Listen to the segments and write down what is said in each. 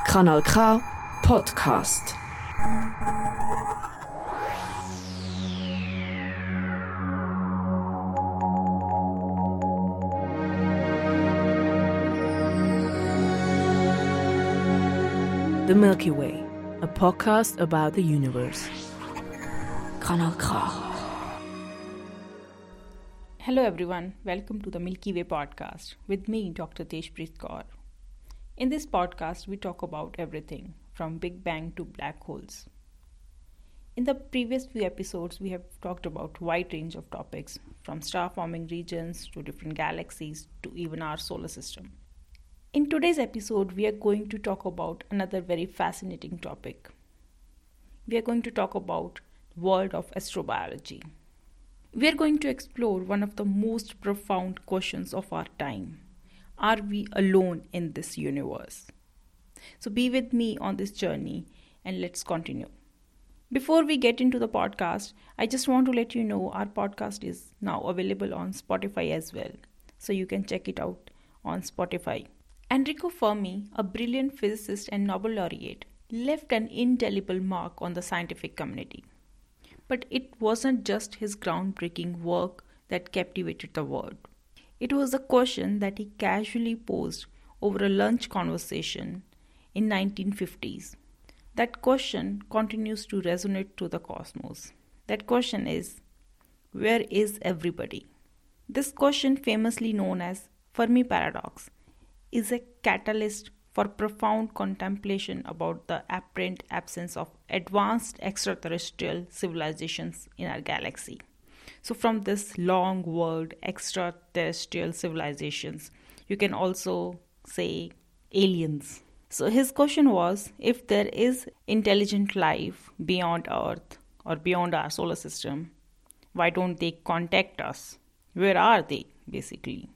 Kanal K Podcast. The Milky Way, a podcast about the universe. Kanal K. Hello everyone, welcome to the Milky Way podcast with me, Dr. Tejpreet Kaur. In this podcast, we talk about everything from Big Bang to black holes. In the previous few episodes, we have talked about a wide range of topics from star-forming regions to different galaxies to even our solar system. In today's episode, we are going to talk about another very fascinating topic. We are going to talk about the world of astrobiology. We are going to explore one of the most profound questions of our time. Are we alone in this universe? So be with me on this journey and let's continue. Before we get into the podcast, I just want to let you know our podcast is now available on Spotify as well. So you can check it out on Spotify. Enrico Fermi, a brilliant physicist and Nobel laureate, left an indelible mark on the scientific community. But it wasn't just his groundbreaking work that captivated the world. It was a question that he casually posed over a lunch conversation in 1950s. That question continues to resonate through the cosmos. That question is, where is everybody? This question, famously known as Fermi paradox, is a catalyst for profound contemplation about the apparent absence of advanced extraterrestrial civilizations in our galaxy. So from this long word, extraterrestrial civilizations, you can also say aliens. So his question was, if there is intelligent life beyond Earth or beyond our solar system, why don't they contact us? Where are they, basically?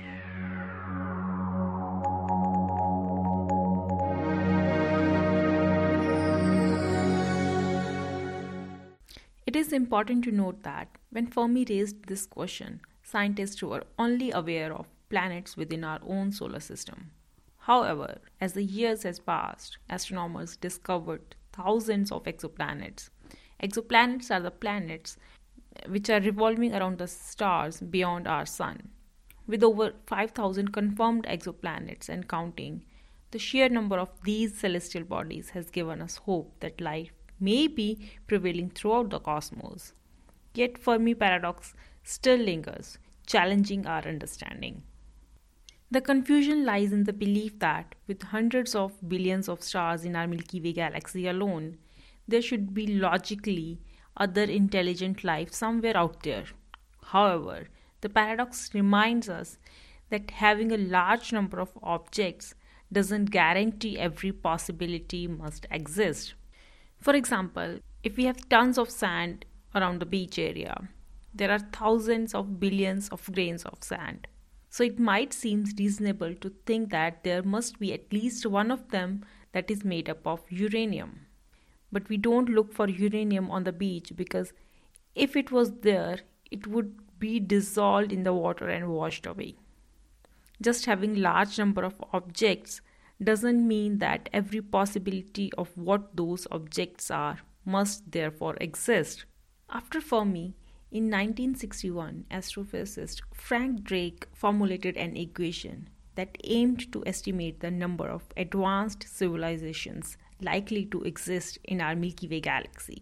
It is important to note that when Fermi raised this question, scientists were only aware of planets within our own solar system. However, as the years has passed, astronomers discovered thousands of exoplanets. Exoplanets are the planets which are revolving around the stars beyond our sun. With over 5,000 confirmed exoplanets and counting, the sheer number of these celestial bodies has given us hope that life may be prevailing throughout the cosmos. Yet Fermi paradox still lingers, challenging our understanding. The confusion lies in the belief that with hundreds of billions of stars in our Milky Way galaxy alone, there should be logically other intelligent life somewhere out there. However, the paradox reminds us that having a large number of objects doesn't guarantee every possibility must exist. For example, if we have tons of sand around the beach area, there are thousands of billions of grains of sand. So it might seem reasonable to think that there must be at least one of them that is made up of uranium. But we don't look for uranium on the beach because if it was there, it would be dissolved in the water and washed away. Just having large number of objects doesn't mean that every possibility of what those objects are must therefore exist. After Fermi, in 1961, astrophysicist Frank Drake formulated an equation that aimed to estimate the number of advanced civilizations likely to exist in our Milky Way galaxy.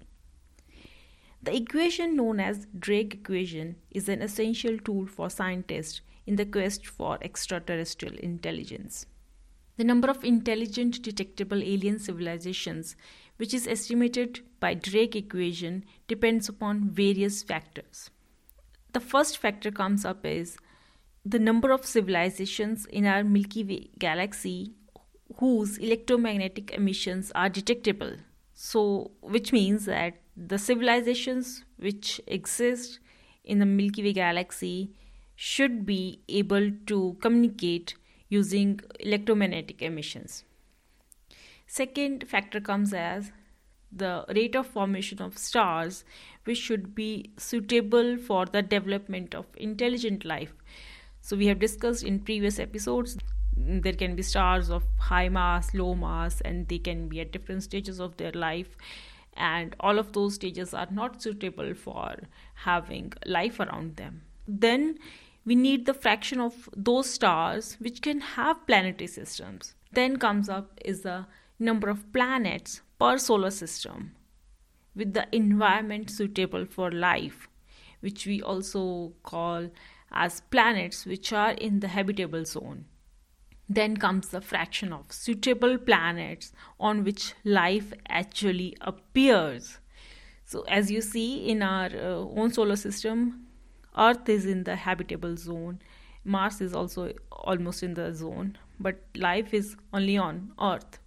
The equation, known as Drake equation, is an essential tool for scientists in the quest for extraterrestrial intelligence. The number of intelligent detectable alien civilizations, which is estimated by Drake equation, depends upon various factors. The first factor comes up is the number of civilizations in our Milky Way galaxy whose electromagnetic emissions are detectable. So, which means that the civilizations which exist in the Milky Way galaxy should be able to communicate using electromagnetic emissions. Second factor comes as the rate of formation of stars, which should be suitable for the development of intelligent life. So we have discussed in previous episodes There can be stars of high mass, low mass, and they can be at different stages of their life. And all of those stages are not suitable for having life around them. Then we need the fraction of those stars which can have planetary systems. Then comes up is the number of planets per solar system with the environment suitable for life, which we also call as planets which are in the habitable zone. Then comes the fraction of suitable planets on which life actually appears. So as you see in our own solar system, Earth is in the habitable zone, Mars is also almost in the zone, but life is only on Earth.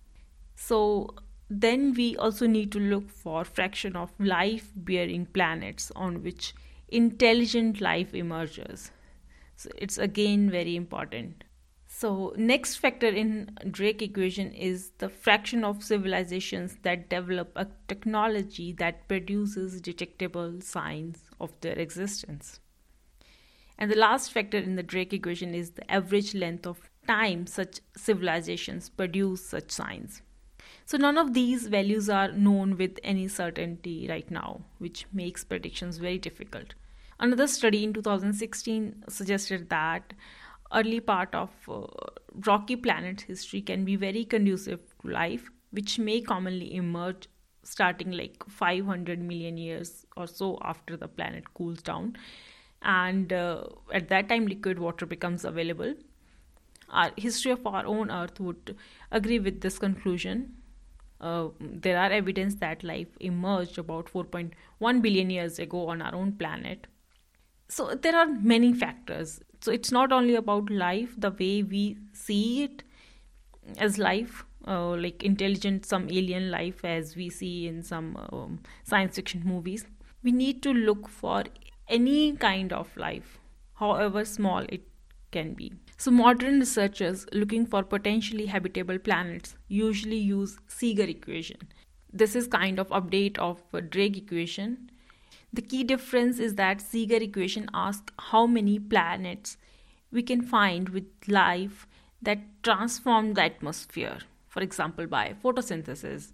So then we also need to look for fraction of life-bearing planets on which intelligent life emerges. So it's again very important. So next factor in Drake equation is the fraction of civilizations that develop a technology that produces detectable signs of their existence. And the last factor in the Drake equation is the average length of time such civilizations produce such signs. So none of these values are known with any certainty right now, which makes predictions very difficult. Another study in 2016 suggested that early part of rocky planet history can be very conducive to life, which may commonly emerge starting like 500 million years or so after the planet cools down. And at that time, liquid water becomes available. Our history of our own Earth would agree with this conclusion. There are evidence that life emerged about 4.1 billion years ago on our own planet. So there are many factors. So it's not only about life, the way we see it as life, like intelligent, some alien life as we see in some science fiction movies. We need to look for any kind of life, however small it can be. So modern researchers looking for potentially habitable planets usually use Seeger equation. This is kind of update of Drake equation. The key difference is that Seeger equation asks how many planets we can find with life that transform the atmosphere, for example by photosynthesis.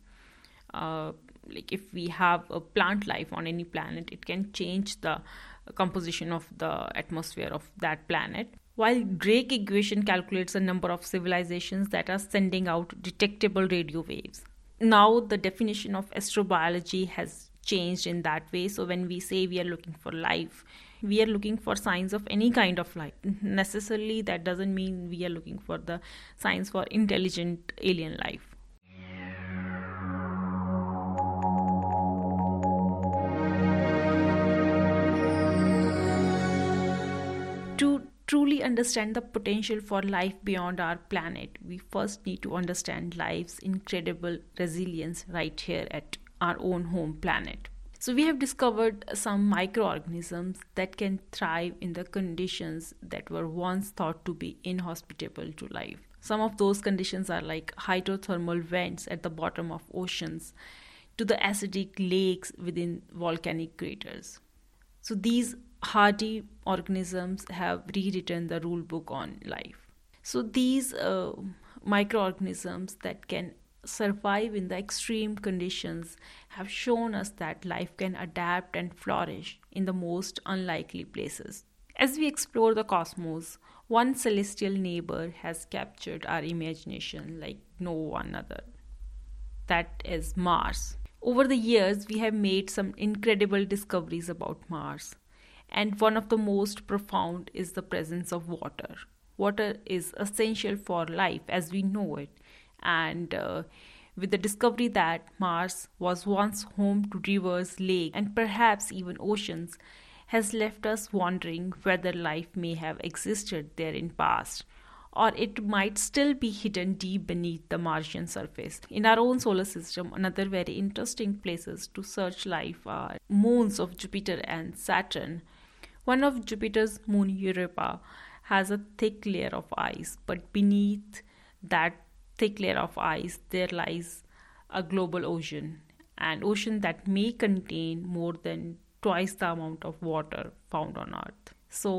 Like if we have a plant life on any planet, it can change the composition of the atmosphere of that planet. While Drake equation calculates the number of civilizations that are sending out detectable radio waves. Now the definition of astrobiology has changed in that way. So when we say we are looking for life, we are looking for signs of any kind of life. Necessarily that doesn't mean we are looking for the signs for intelligent alien life. To truly understand the potential for life beyond our planet, we first need to understand life's incredible resilience right here at our own home planet. So we have discovered some microorganisms that can thrive in the conditions that were once thought to be inhospitable to life. Some of those conditions are like hydrothermal vents at the bottom of oceans to the acidic lakes within volcanic craters. So these hardy organisms have rewritten the rule book on life. So these microorganisms that can survive in the extreme conditions have shown us that life can adapt and flourish in the most unlikely places. As we explore the cosmos, one celestial neighbor has captured our imagination like no one other. That is Mars. Over the years, we have made some incredible discoveries about Mars. And one of the most profound is the presence of water. Water is essential for life as we know it. And with the discovery that Mars was once home to rivers, lakes, and perhaps even oceans, has left us wondering whether life may have existed there in past, or it might still be hidden deep beneath the Martian surface. In our own solar system, another very interesting places to search life are moons of Jupiter and Saturn. One of Jupiter's moon, Europa, has a thick layer of ice, but beneath that thick layer of ice, there lies a global ocean, an ocean that may contain more than twice the amount of water found on Earth. So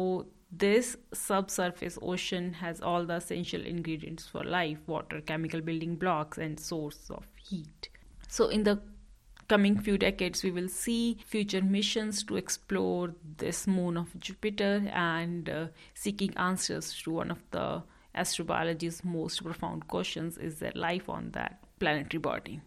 this subsurface ocean has all the essential ingredients for life: water, chemical building blocks, and source of heat. So in the coming few decades, we will see future missions to explore this moon of Jupiter and seeking answers to one of the astrobiology's most profound questions: is there life on that planetary body?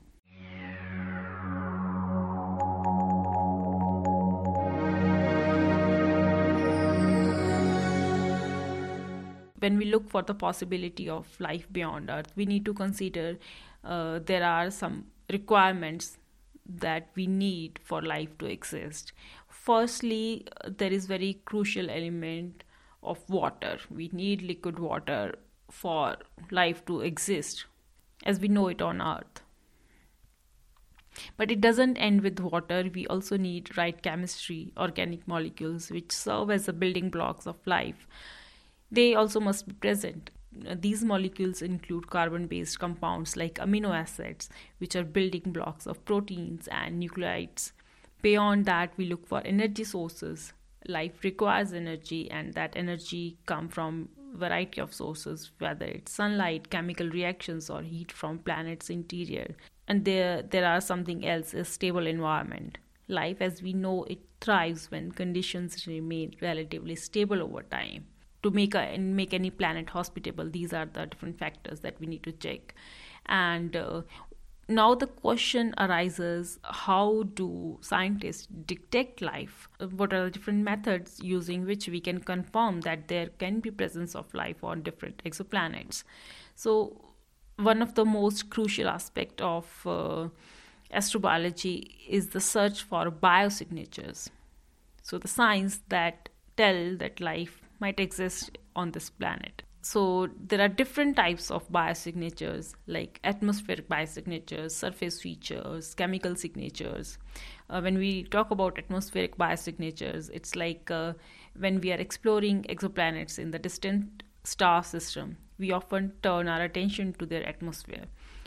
When we look for the possibility of life beyond Earth, we need to consider there are some requirements that we need for life to exist. Firstly, there is very crucial element of water. We need liquid water for life to exist as we know it on Earth. But it doesn't end with water. We also need right chemistry, organic molecules, which serve as the building blocks of life. They also must be present. These molecules include carbon-based compounds like amino acids, which are building blocks of proteins and nucleides. Beyond that, we look for energy sources. Life requires energy, and that energy comes from a variety of sources, whether it's sunlight, chemical reactions, or heat from planet's interior. And there are something else, a stable environment. Life as we know it thrives when conditions remain relatively stable over time. To make any planet hospitable, these are the different factors that we need to check. And now the question arises, how do scientists detect life? What are the different methods using which we can confirm that there can be presence of life on different exoplanets? So one of the most crucial aspects of astrobiology is the search for biosignatures. So the signs that tell that life might exist on this planet. So there are different types of biosignatures, like atmospheric biosignatures, surface features, chemical signatures. When we talk about atmospheric biosignatures, it's like when we are exploring exoplanets in the distant star system, we often turn our attention to their atmosphere.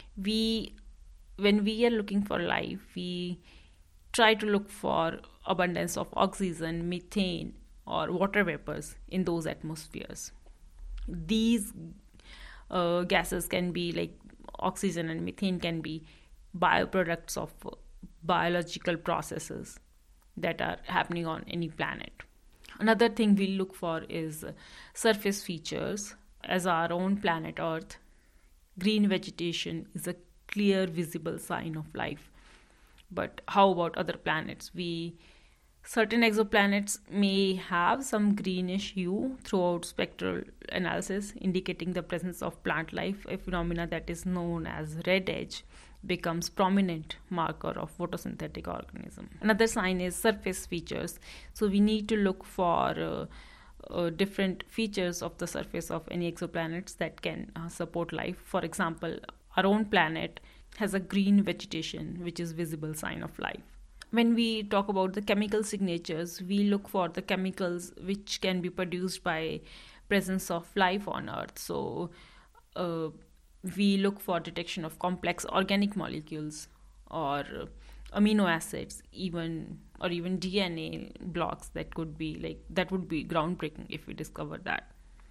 When we are looking for life, we try to look for abundance of oxygen, methane, or water vapors in those atmospheres. These gases can be, like oxygen and methane, can be bioproducts of biological processes that are happening on any planet. Another thing we look for is surface features. As our own planet Earth, green vegetation is a clear visible sign of life. But how about other planets? Certain exoplanets may have some greenish hue throughout spectral analysis, indicating the presence of plant life. A phenomena that is known as red edge becomes prominent marker of photosynthetic organism. Another sign is surface features. So we need to look for different features of the surface of any exoplanets that can support life. For example, our own planet has a green vegetation, which is visible sign of life. When we talk about the chemical signatures, we look for the chemicals which can be produced by presence of life on Earth. So we look for detection of complex organic molecules or amino acids, even DNA blocks. That would be groundbreaking if we discover that.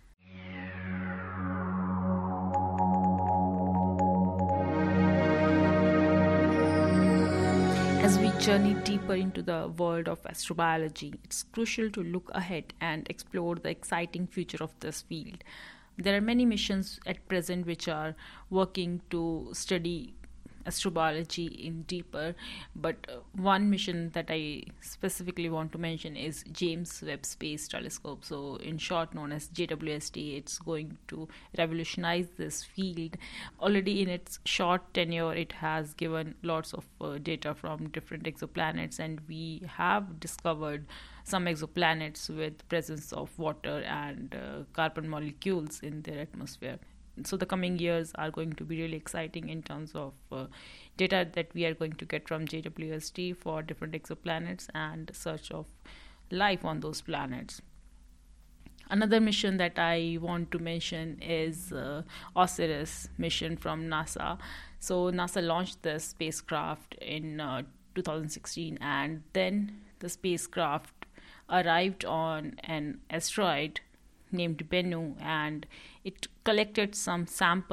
As we journey deeper into the world of astrobiology, it's crucial to look ahead and explore the exciting future of this field. There are many missions at present which are working to study astrobiology in deeper, but one mission that I specifically want to mention is James Webb Space Telescope, so in short known as JWST. It's going to revolutionize this field. Already in its short tenure, it has given lots of data from different exoplanets, and we have discovered some exoplanets with presence of water and carbon molecules in their atmosphere. So the coming years are going to be really exciting in terms of data that we are going to get from JWST for different exoplanets and search of life on those planets. Another mission that I want to mention is OSIRIS mission from NASA. So NASA launched the spacecraft in 2016, and then the spacecraft arrived on an asteroid named Bennu, and it collected some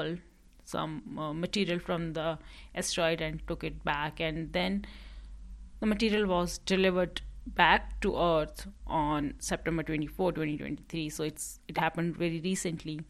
material from the asteroid and took it back, and then the material was delivered back to Earth on September 24, 2023. So it happened very recently.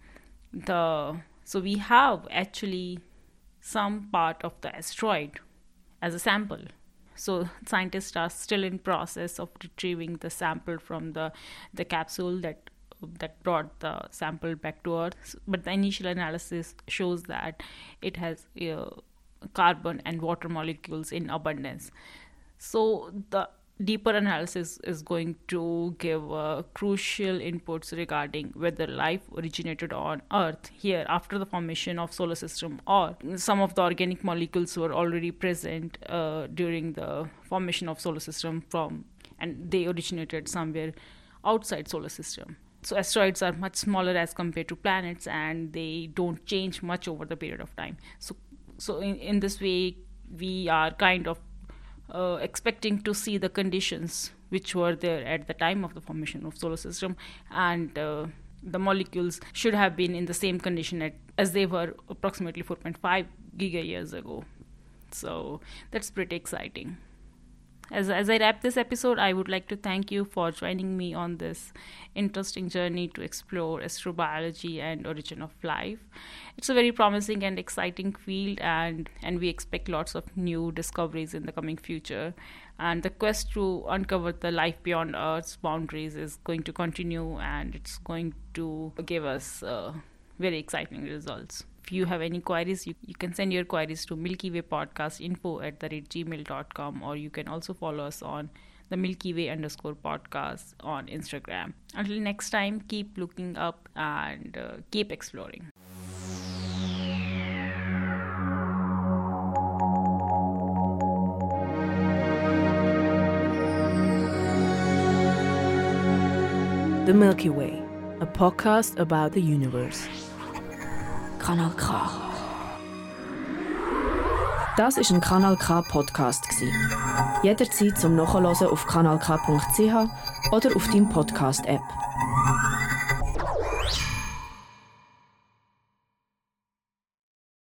So we have actually some part of the asteroid as a sample. So scientists are still in process of retrieving the sample from the capsule that brought the sample back to Earth. But the initial analysis shows that it has carbon and water molecules in abundance. So the deeper analysis is going to give crucial inputs regarding whether life originated on Earth here after the formation of solar system, or some of the organic molecules were already present during the formation of solar system and they originated somewhere outside solar system. So asteroids are much smaller as compared to planets, and they don't change much over the period of time. So in this way, we are kind of expecting to see the conditions which were there at the time of the formation of solar system, and the molecules should have been in the same condition as they were approximately 4.5 giga years ago. So that's pretty exciting. As I wrap this episode, I would like to thank you for joining me on this interesting journey to explore astrobiology and origin of life. It's a very promising and exciting field, and we expect lots of new discoveries in the coming future. And the quest to uncover the life beyond Earth's boundaries is going to continue, and it's going to give us very exciting results. If you have any queries, you can send your queries to milkywaypodcastinfo@gmail.com, or you can also follow us on the milkyway_podcast on Instagram. Until next time, keep looking up and keep exploring. The Milky Way, a podcast about the universe. Kanal K. Das war ein Kanal K Podcast. Jederzeit zum Nachhören auf kanalk.ch oder auf deinem Podcast-App.